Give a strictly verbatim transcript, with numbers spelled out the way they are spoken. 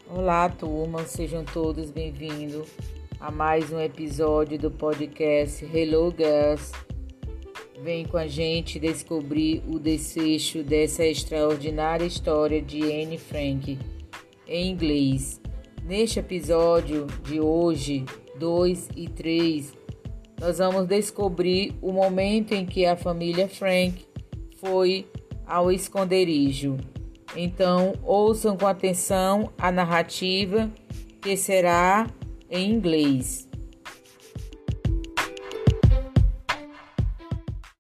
Olá, turma, sejam todos bem-vindos a mais um episódio do podcast Hello Girls. Vem com a gente descobrir o desfecho dessa extraordinária história de Anne Frank em inglês. Neste episódio de hoje, dois e três, nós vamos descobrir o momento em que a família Frank foi ao esconderijo. Então, ouçam com atenção a narrativa, que será em inglês.